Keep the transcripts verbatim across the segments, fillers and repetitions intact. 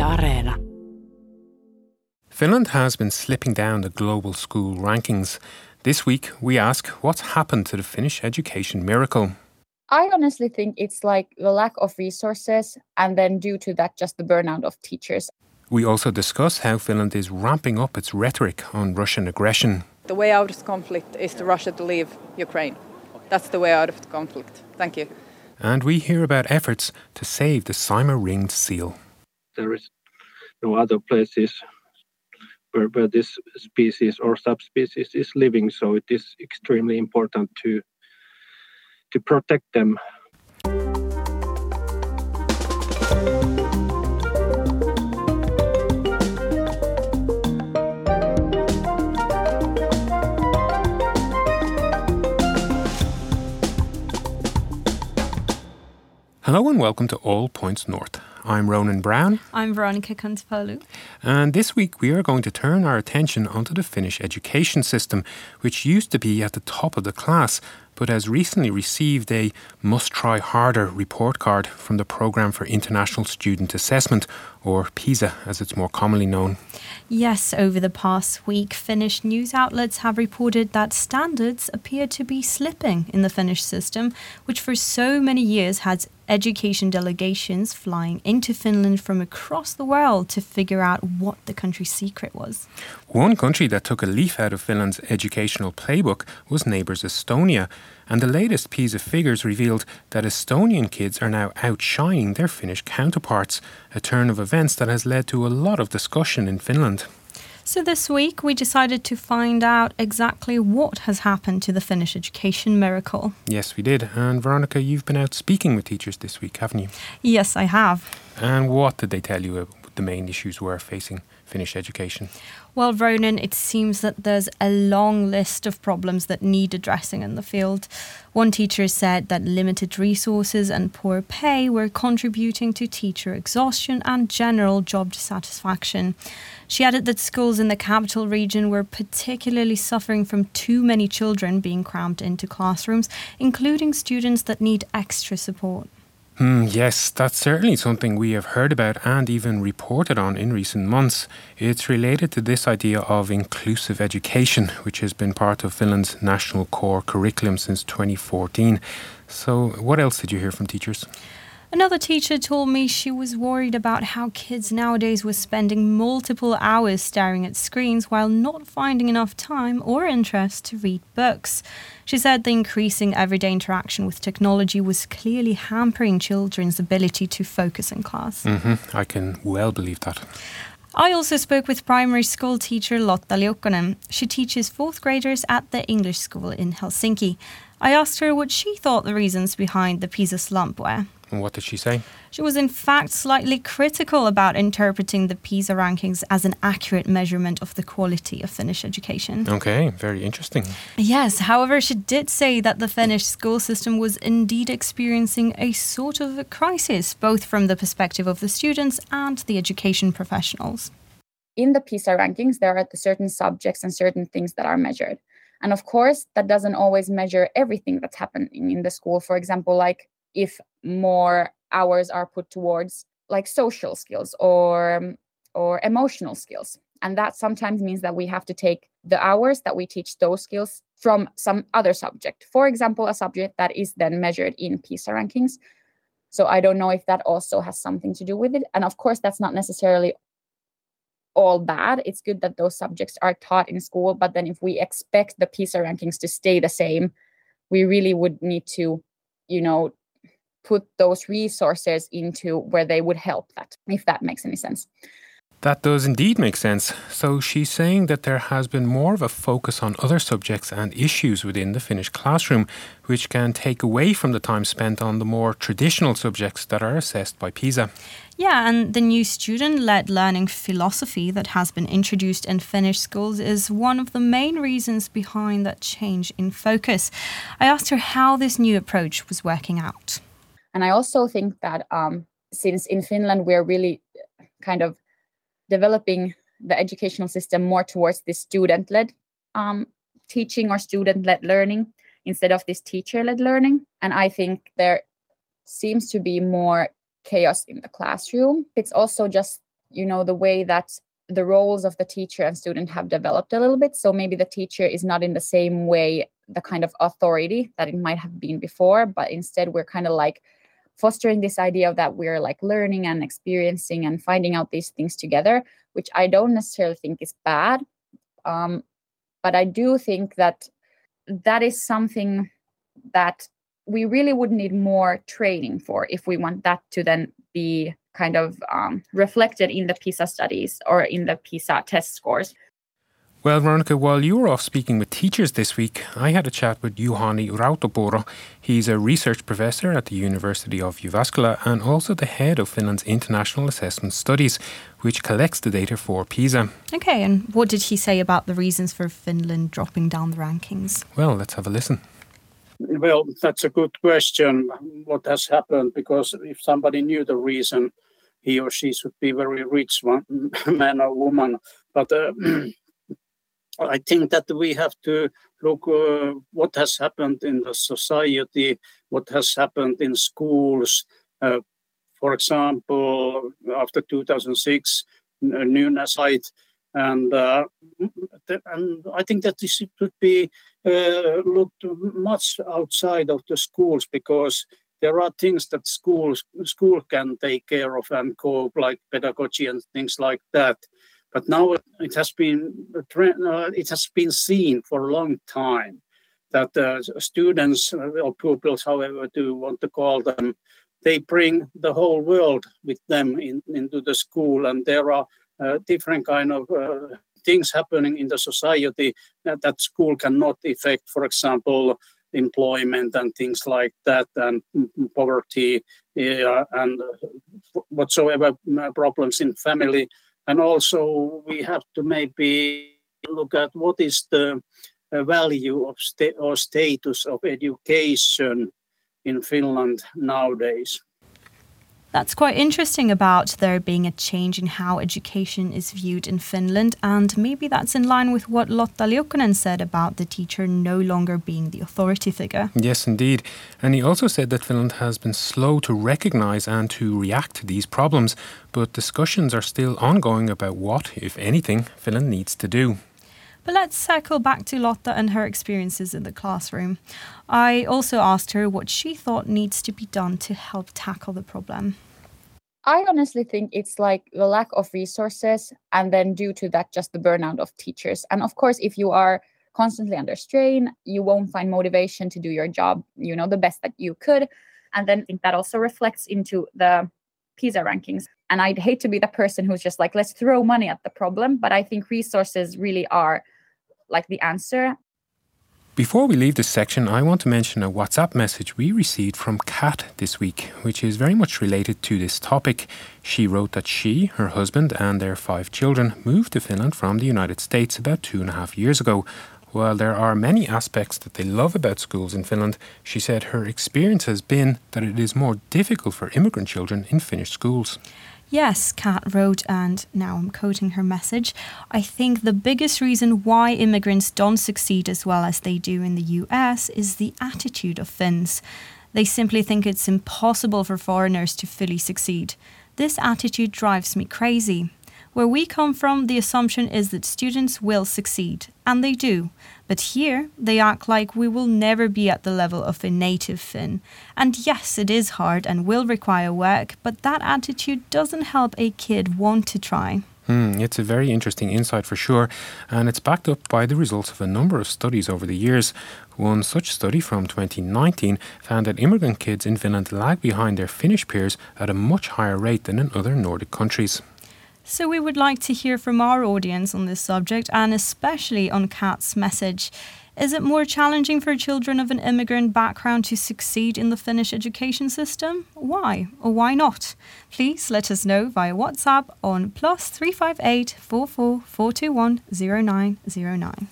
Areena. Finland has been slipping down the global school rankings. This week, we ask what's happened to the Finnish education miracle. I honestly think it's like the lack of resources and then due to that just the burnout of teachers. We also discuss how Finland is ramping up its rhetoric on Russian aggression. The way out of the conflict is for Russia to leave Ukraine. That's the way out of the conflict. Thank you. And we hear about efforts to save the Saimaa-ringed seal. There is no other places where, where this species or subspecies is living, so it is extremely important to to protect them. Hello and welcome to All Points North. I'm Ronan Brown. I'm Veronica Kantapalu. And this week we are going to turn our attention onto the Finnish education system, which used to be at the top of the class, but has recently received a Must Try Harder report card from the Programme for International Student Assessment, or PISA as it's more commonly known. Yes, over the past week, Finnish news outlets have reported that standards appear to be slipping in the Finnish system, which for so many years had education delegations flying into Finland from across the world to figure out what the country's secret was. One country that took a leaf out of Finland's educational playbook was neighbours Estonia, and the latest PISA figures revealed that Estonian kids are now outshining their Finnish counterparts, a turn of events that has led to a lot of discussion in Finland. So this week we decided to find out exactly what has happened to the Finnish education miracle. Yes, we did. And Veronica, you've been out speaking with teachers this week, haven't you? Yes, I have. And what did they tell you the main issues were facing Finnish education? Well, Ronan, it seems that there's a long list of problems that need addressing in the field. One teacher said that limited resources and poor pay were contributing to teacher exhaustion and general job dissatisfaction. She added that schools in the capital region were particularly suffering from too many children being crammed into classrooms, including students that need extra support. Hmm, yes, that's certainly something we have heard about and even reported on in recent months. It's related to this idea of inclusive education, which has been part of Finland's national core curriculum since twenty fourteen. So what else did you hear from teachers? Another teacher told me she was worried about how kids nowadays were spending multiple hours staring at screens while not finding enough time or interest to read books. She said the increasing everyday interaction with technology was clearly hampering children's ability to focus in class. Mm-hmm. I can well believe that. I also spoke with primary school teacher Lotta Liukkonen. She teaches fourth graders at the English school in Helsinki. I asked her what she thought the reasons behind the PISA slump were. And what did she say? She was in fact slightly critical about interpreting the PISA rankings as an accurate measurement of the quality of Finnish education. Okay, very interesting. Yes, however, she did say that the Finnish school system was indeed experiencing a sort of a crisis, both from the perspective of the students and the education professionals. In the PISA rankings, there are certain subjects and certain things that are measured. And of course, that doesn't always measure everything that's happening in the school. For example, like if more hours are put towards like social skills or or emotional skills. And that sometimes means that we have to take the hours that we teach those skills from some other subject. For example, a subject that is then measured in PISA rankings. So I don't know if that also has something to do with it. And of course, that's not necessarily all bad. It's good that those subjects are taught in school. But then if we expect the PISA rankings to stay the same, we really would need to, you know, put those resources into where they would help that, if that makes any sense. That does indeed make sense. So she's saying that there has been more of a focus on other subjects and issues within the Finnish classroom, which can take away from the time spent on the more traditional subjects that are assessed by PISA. Yeah, and the new student-led learning philosophy that has been introduced in Finnish schools is one of the main reasons behind that change in focus. I asked her how this new approach was working out. And I also think that um, since in Finland we're really kind of developing the educational system more towards this student-led um, teaching or student-led learning instead of this teacher-led learning. And I think there seems to be more chaos in the classroom. It's also just you know, the way that the roles of the teacher and student have developed a little bit. So maybe the teacher is not in the same way the kind of authority that it might have been before, but instead we're kind of like fostering this idea of that we're like learning and experiencing and finding out these things together, which I don't necessarily think is bad. Um, but I do think that that is something that we really would need more training for if we want that to then be kind of um, reflected in the PISA studies or in the PISA test scores. Well, Veronica, while you were off speaking with teachers this week, I had a chat with Juhani Rautapuro. He's a research professor at the University of Jyväskylä and also the head of Finland's International Assessment Studies, which collects the data for PISA. Okay, and what did he say about the reasons for Finland dropping down the rankings? Well, let's have a listen. Well, that's a good question. What has happened? Because if somebody knew the reason, he or she should be very rich one, man or woman. But uh, I think that we have to look uh, what has happened in the society, what has happened in schools. Uh, for example, after two thousand six, new site, and uh, and I think that this could be uh, looked much outside of the schools, because there are things that schools school can take care of and cope, like pedagogy and things like that. But now it has been uh, it has been seen for a long time that uh, students or pupils, however you want to call them, they bring the whole world with them in, into the school, and there are uh, different kind of uh, things happening in the society that, that school cannot affect. For example, employment and things like that, and poverty, uh, and whatsoever problems in family. And also we have to maybe look at what is the uh, value of sta- or status of education in Finland nowadays. That's quite interesting about there being a change in how education is viewed in Finland, and maybe that's in line with what Lotta Liukkonen said about the teacher no longer being the authority figure. Yes, indeed. And he also said that Finland has been slow to recognise and to react to these problems, but discussions are still ongoing about what, if anything, Finland needs to do. But let's circle back to Lotta and her experiences in the classroom. I also asked her what she thought needs to be done to help tackle the problem. I honestly think it's like the lack of resources, and then due to that, just the burnout of teachers. And of course, if you are constantly under strain, you won't find motivation to do your job, you know, the best that you could. And then I think that also reflects into the PISA rankings. And I'd hate to be the person who's just like, let's throw money at the problem. But I think resources really are like the answer. Before we leave this section, I want to mention a WhatsApp message we received from Kat this week, which is very much related to this topic. She wrote that she, her husband and their five children moved to Finland from the United States about two and a half years ago. While there are many aspects that they love about schools in Finland, she said her experience has been that it is more difficult for immigrant children in Finnish schools. Yes, Kat wrote, and now I'm quoting her message, I think the biggest reason why immigrants don't succeed as well as they do in the U S is the attitude of Finns. They simply think it's impossible for foreigners to fully succeed. This attitude drives me crazy. Where we come from, the assumption is that students will succeed, and they do. But here, they act like we will never be at the level of a native Finn. And yes, it is hard and will require work, but that attitude doesn't help a kid want to try. Hmm, it's a very interesting insight for sure, and it's backed up by the results of a number of studies over the years. One such study from twenty nineteen found that immigrant kids in Finland lag behind their Finnish peers at a much higher rate than in other Nordic countries. So we would like to hear from our audience on this subject, and especially on Kat's message. Is it more challenging for children of an immigrant background to succeed in the Finnish education system? Why or why not? Please let us know via WhatsApp on plus three five eight, four four, four two one, zero nine zero nine.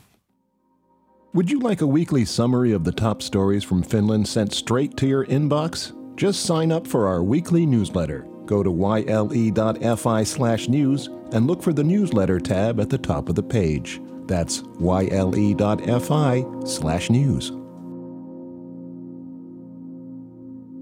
Would you like a weekly summary of the top stories from Finland sent straight to your inbox? Just sign up for our weekly newsletter. Go to yle.fi slash news and look for the newsletter tab at the top of the page. That's yle.fi slash news.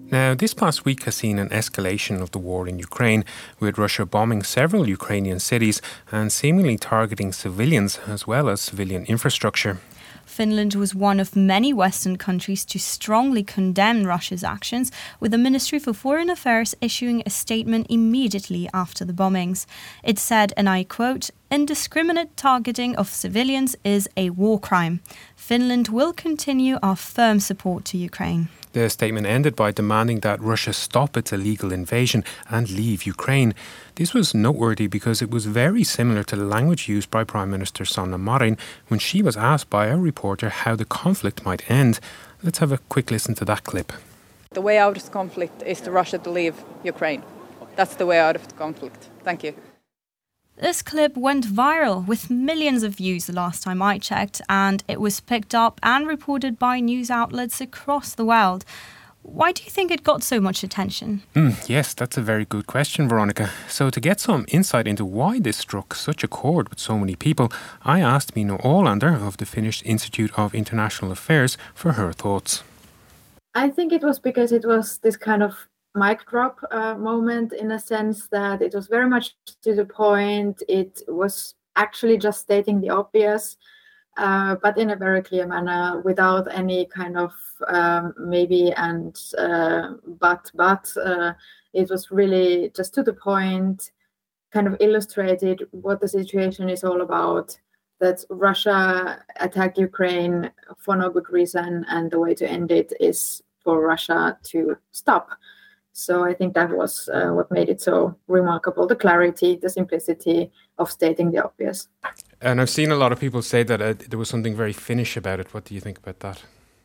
Now, this past week has seen an escalation of the war in Ukraine, with Russia bombing several Ukrainian cities and seemingly targeting civilians as well as civilian infrastructure. Finland was one of many Western countries to strongly condemn Russia's actions, with the Ministry for Foreign Affairs issuing a statement immediately after the bombings. It said, and I quote, "Indiscriminate targeting of civilians is a war crime. Finland will continue our firm support to Ukraine." The statement ended by demanding that Russia stop its illegal invasion and leave Ukraine. This was noteworthy because it was very similar to the language used by Prime Minister Sanna Marin when she was asked by a reporter how the conflict might end. Let's have a quick listen to that clip. The way out of the conflict is for Russia to leave Ukraine. That's the way out of the conflict. Thank you. This clip went viral with millions of views the last time I checked, and it was picked up and reported by news outlets across the world. Why do you think it got so much attention? Mm, yes, that's a very good question, Veronica. So to get some insight into why this struck such a chord with so many people, I asked Mino Olander of the Finnish Institute of International Affairs for her thoughts. I think it was because it was this kind of mic drop uh, moment, in a sense that it was very much to the point. It was actually just stating the obvious, uh, but in a very clear manner, without any kind of um, maybe and uh, but but uh, it was really just to the point, kind of illustrated what the situation is all about, that Russia attacked Ukraine for no good reason, and the way to end it is for Russia to stop. So I think that was uh, what made it so remarkable, the clarity, the simplicity of stating the obvious. And I've seen a lot of people say that uh, there was something very Finnish about it. What do you think about that?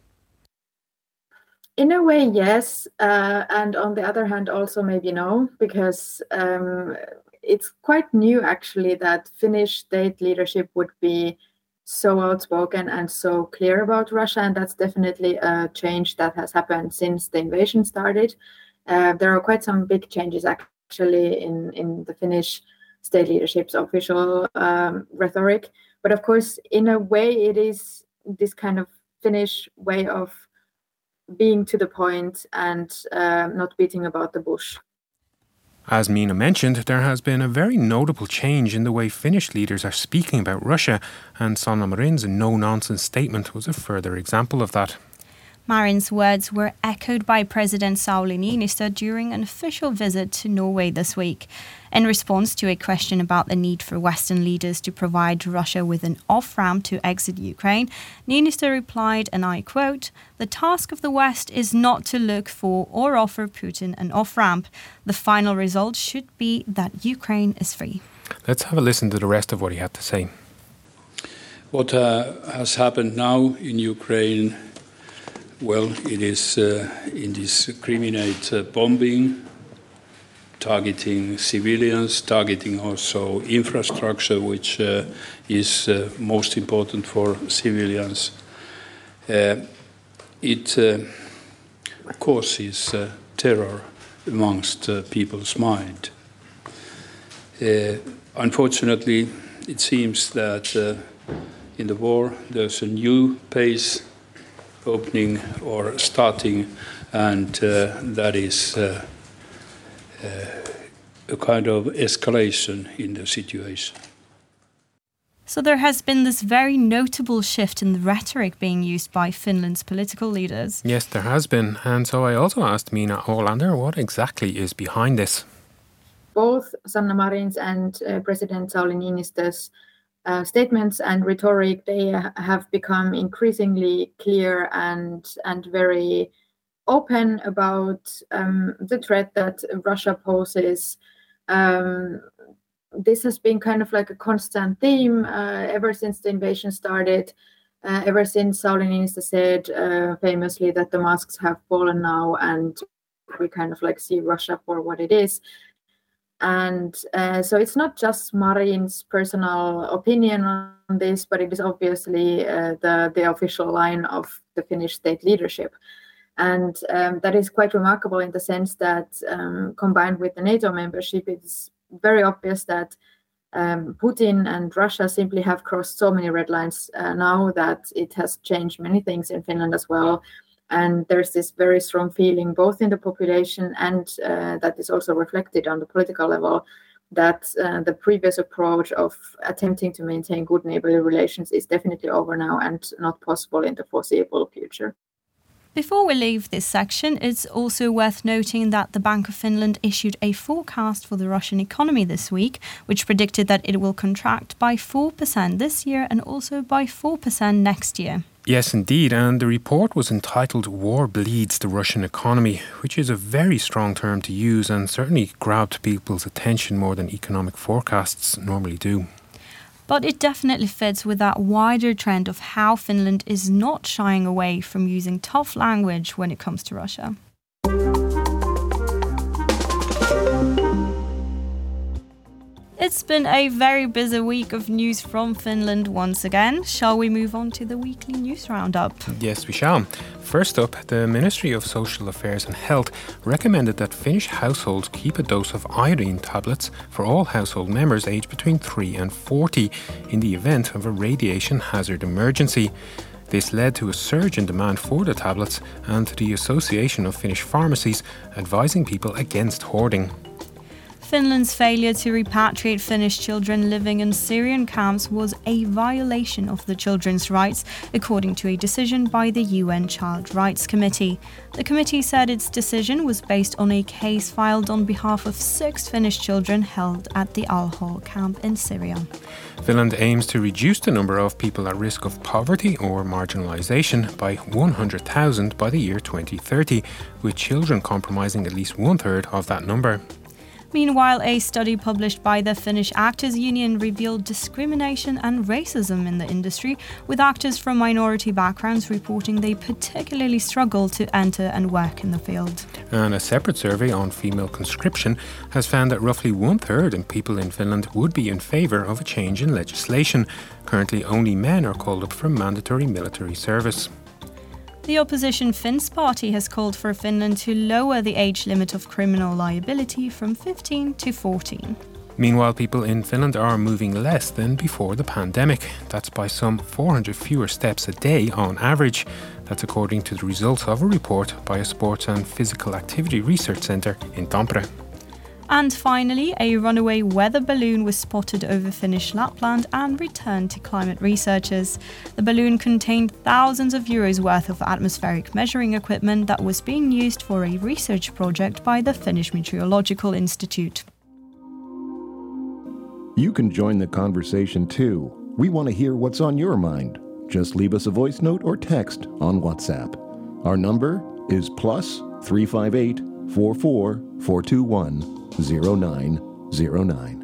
In a way, yes. Uh, and on the other hand, also maybe no, because um, it's quite new, actually, that Finnish state leadership would be so outspoken and so clear about Russia. And that's definitely a change that has happened since the invasion started. Uh, there are quite some big changes actually in, in the Finnish state leadership's official um, rhetoric. But of course, in a way, it is this kind of Finnish way of being to the point and uh, not beating about the bush. As Mina mentioned, there has been a very notable change in the way Finnish leaders are speaking about Russia, and Sanna Marin's no-nonsense statement was a further example of that. Marin's words were echoed by President Sauli Niinistö during an official visit to Norway this week. In response to a question about the need for Western leaders to provide Russia with an off-ramp to exit Ukraine, Niinistö replied, and I quote, "The task of the West is not to look for or offer Putin an off-ramp. The final result should be that Ukraine is free." Let's have a listen to the rest of what he had to say. What uh, has happened now in Ukraine, well, it is uh, indiscriminate uh, bombing, targeting civilians, targeting also infrastructure, which uh, is uh, most important for civilians. Uh, it uh, causes uh, terror amongst uh, people's mind. Uh, unfortunately, it seems that uh, in the war there's a new pace opening or starting, and uh, that is uh, uh, a kind of escalation in the situation. So there has been this very notable shift in the rhetoric being used by Finland's political leaders. Yes, there has been. And so I also asked Mina Olander what exactly is behind this. Both Sanna Marin's and uh, President Sauli Niinistö's Uh, statements and rhetoric, they have become increasingly clear and and very open about um, the threat that Russia poses. Um, this has been kind of like a constant theme uh, ever since the invasion started, uh, ever since Sauli Niinistö said uh, famously that the masks have fallen now and we kind of like see Russia for what it is. And uh, so it's not just Marin's personal opinion on this, but it is obviously uh, the, the official line of the Finnish state leadership. And um, that is quite remarkable in the sense that um, combined with the NATO membership, it's very obvious that um, Putin and Russia simply have crossed so many red lines uh, now that it has changed many things in Finland as well. And there's this very strong feeling both in the population and uh, that is also reflected on the political level that uh, the previous approach of attempting to maintain good neighborly relations is definitely over now and not possible in the foreseeable future. Before we leave this section, it's also worth noting that the Bank of Finland issued a forecast for the Russian economy this week, which predicted that it will contract by four percent this year and also by four percent next year. Yes, indeed, and the report was entitled War Bleeds the Russian Economy, which is a very strong term to use and certainly grabbed people's attention more than economic forecasts normally do. But it definitely fits with that wider trend of how Finland is not shying away from using tough language when it comes to Russia. It's been a very busy week of news from Finland once again. Shall we move on to the weekly news roundup? Yes, we shall. First up, the Ministry of Social Affairs and Health recommended that Finnish households keep a dose of iodine tablets for all household members aged between three and forty in the event of a radiation hazard emergency. This led to a surge in demand for the tablets and to the Association of Finnish Pharmacies advising people against hoarding. Finland's failure to repatriate Finnish children living in Syrian camps was a violation of the children's rights, according to a decision by the U N Child Rights Committee. The committee said its decision was based on a case filed on behalf of six Finnish children held at the Al-Hol camp in Syria. Finland aims to reduce the number of people at risk of poverty or marginalisation by one hundred thousand by the year twenty thirty, with children comprising at least one-third of that number. Meanwhile, a study published by the Finnish Actors Union revealed discrimination and racism in the industry, with actors from minority backgrounds reporting they particularly struggle to enter and work in the field. And a separate survey on female conscription has found that roughly one-third of people in Finland would be in favour of a change in legislation. Currently, only men are called up for mandatory military service. The opposition Finns party has called for Finland to lower the age limit of criminal liability from fifteen to fourteen. Meanwhile, people in Finland are moving less than before the pandemic. That's by some four hundred fewer steps a day on average. That's according to the results of a report by a sports and physical activity research centre in Tampere. And finally, a runaway weather balloon was spotted over Finnish Lapland and returned to climate researchers. The balloon contained thousands of euros worth of atmospheric measuring equipment that was being used for a research project by the Finnish Meteorological Institute. You can join the conversation too. We want to hear what's on your mind. Just leave us a voice note or text on WhatsApp. Our number is plus three five eight, four four, four two one, zero nine zero nine.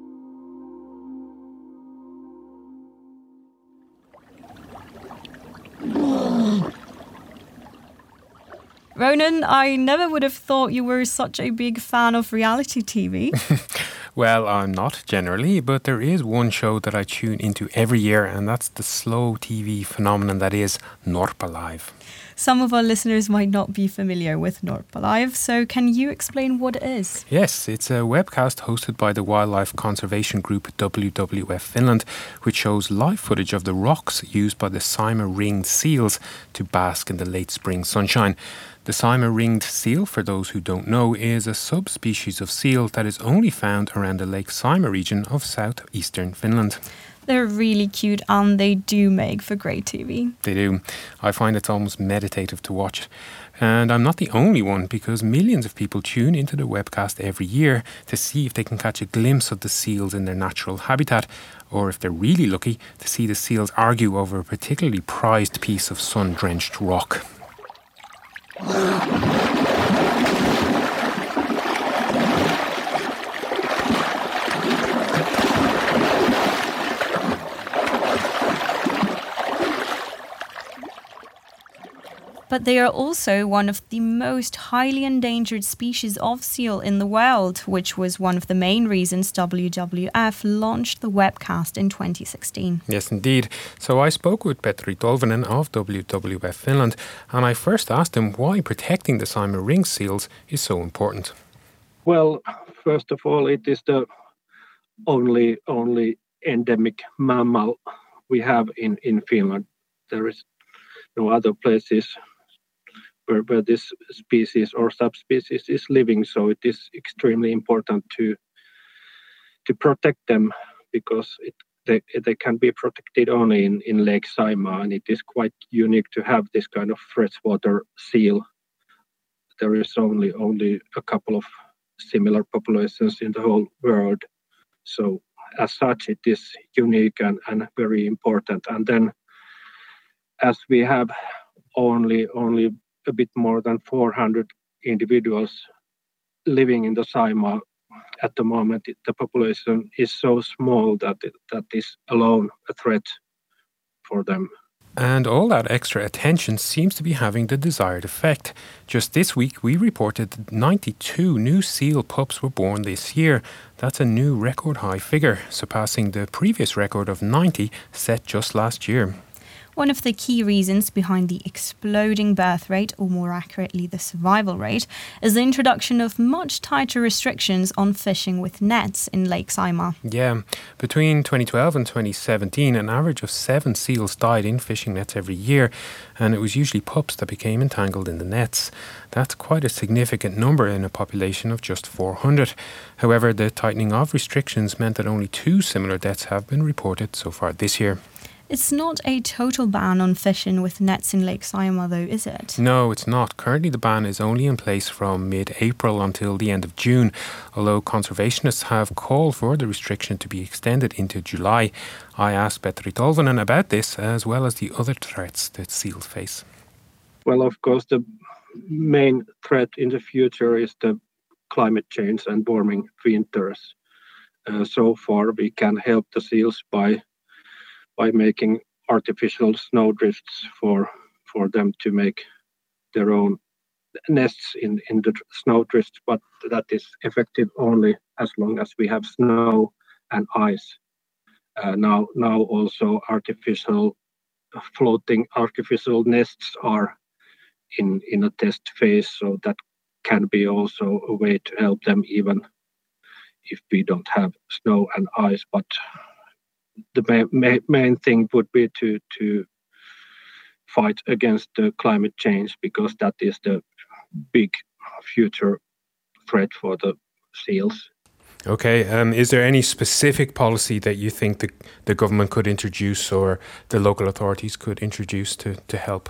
Ronan, I never would have thought you were such a big fan of reality T V. Well, I'm not generally, but there is one show that I tune into every year, and that's the slow T V phenomenon that is Norppalive. Some of our listeners might not be familiar with Norppalive, so can you explain what it is? Yes, it's a webcast hosted by the wildlife conservation group W W F Finland, which shows live footage of the rocks used by the Saimaa-ringed seals to bask in the late spring sunshine. The Saimaa-ringed seal, for those who don't know, is a subspecies of seal that is only found around the Lake Saimaa region of southeastern Finland. They're really cute and they do make for great T V. They do. I find it's almost meditative to watch it. And I'm not the only one, because millions of people tune into the webcast every year to see if they can catch a glimpse of the seals in their natural habitat, or if they're really lucky, to see the seals argue over a particularly prized piece of sun-drenched rock. But they are also one of the most highly endangered species of seal in the world, which was one of the main reasons W W F launched the webcast in twenty sixteen. Yes, indeed. So I spoke with Petri Tolvanen of W W F Finland, and I first asked him why protecting the Saimaa-ringed seals is so important. Well, first of all, it is the only only endemic mammal we have in, in Finland. There is no other places where, where this species or subspecies is living. So it is extremely important to to protect them, because it, they, they can be protected only in, in Lake Saimaa, and it is quite unique to have this kind of freshwater seal. There is only only a couple of similar populations in the whole world. So as such, it is unique and, and very important. And then as we have only only a bit more than four hundred individuals living in the Saimaa at the moment, the population is so small that it, that is alone a threat for them. And all that extra attention seems to be having the desired effect. Just this week, we reported that ninety-two new seal pups were born this year. That's a new record high figure, surpassing the previous record of ninety set just last year. One of the key reasons behind the exploding birth rate, or more accurately the survival rate, is the introduction of much tighter restrictions on fishing with nets in Lake Saimaa. Yeah, between twenty twelve and twenty seventeen, an average of seven seals died in fishing nets every year, and it was usually pups that became entangled in the nets. That's quite a significant number in a population of just four hundred. However, the tightening of restrictions meant that only two similar deaths have been reported so far this year. It's not a total ban on fishing with nets in Lake Saimaa, though, is it? No, it's not. Currently, the ban is only in place from mid-April until the end of June, although conservationists have called for the restriction to be extended into July. I asked Petri Tolvanen about this, as well as the other threats that seals face. Well, of course, the main threat in the future is the climate change and warming winters. Uh, so far, we can help the seals by by making artificial snowdrifts for for them to make their own nests in, in the snowdrifts, but that is effective only as long as we have snow and ice. Uh, now, now also artificial floating artificial nests are in, in a test phase, so that can be also a way to help them even if we don't have snow and ice. But the main, main thing would be to to fight against the climate change, because that is the big future threat for the seals. Okay, um, is there any specific policy that you think the, the government could introduce or the local authorities could introduce to, to help?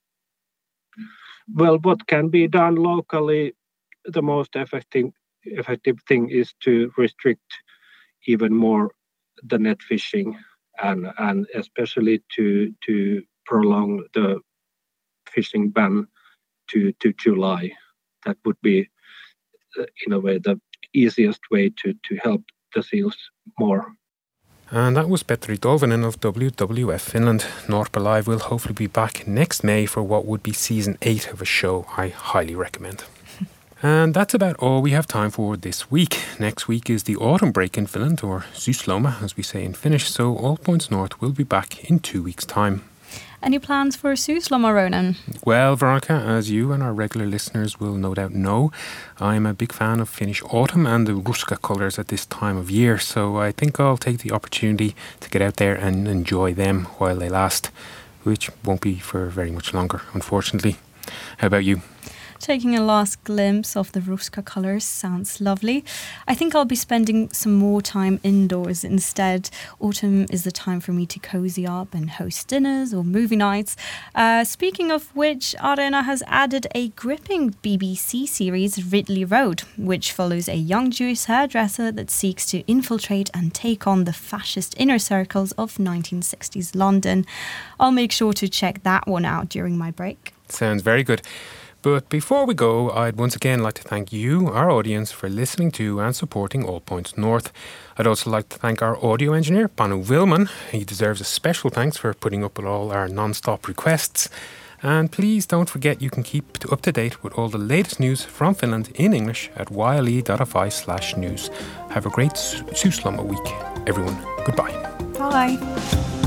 Well, what can be done locally, the most effective, effective thing is to restrict even more the net fishing, and and especially to to prolong the fishing ban to to July. That would be uh, in a way the easiest way to to help the seals more. And that was Petri Tolvanen of W W F Finland. North By Live will hopefully be back next May for what would be season eight of a show I highly recommend. And that's about all we have time for this week. Next week is the autumn break in Finland, or Syysloma as we say in Finnish, so All Points North will be back in two weeks' time. Any plans for Syysloma, Ronan? Well, Veronica, as you and our regular listeners will no doubt know, I'm a big fan of Finnish autumn and the Ruska colours at this time of year, so I think I'll take the opportunity to get out there and enjoy them while they last, which won't be for very much longer, unfortunately. How about you? Taking a last glimpse of the Ruska colours sounds lovely. I think I'll be spending some more time indoors instead. Autumn is the time for me to cozy up and host dinners or movie nights. Uh, speaking of which, Areena has added a gripping B B C series, Ridley Road, which follows a young Jewish hairdresser that seeks to infiltrate and take on the fascist inner circles of nineteen sixties London. I'll make sure to check that one out during my break. Sounds very good. But before we go, I'd once again like to thank you, our audience, for listening to and supporting All Points North. I'd also like to thank our audio engineer, Panu Wilman. He deserves a special thanks for putting up with all our non-stop requests. And please don't forget you can keep up to date with all the latest news from Finland in English at yle.fi slash news. Have a great Syysloma week, everyone. Goodbye. Bye.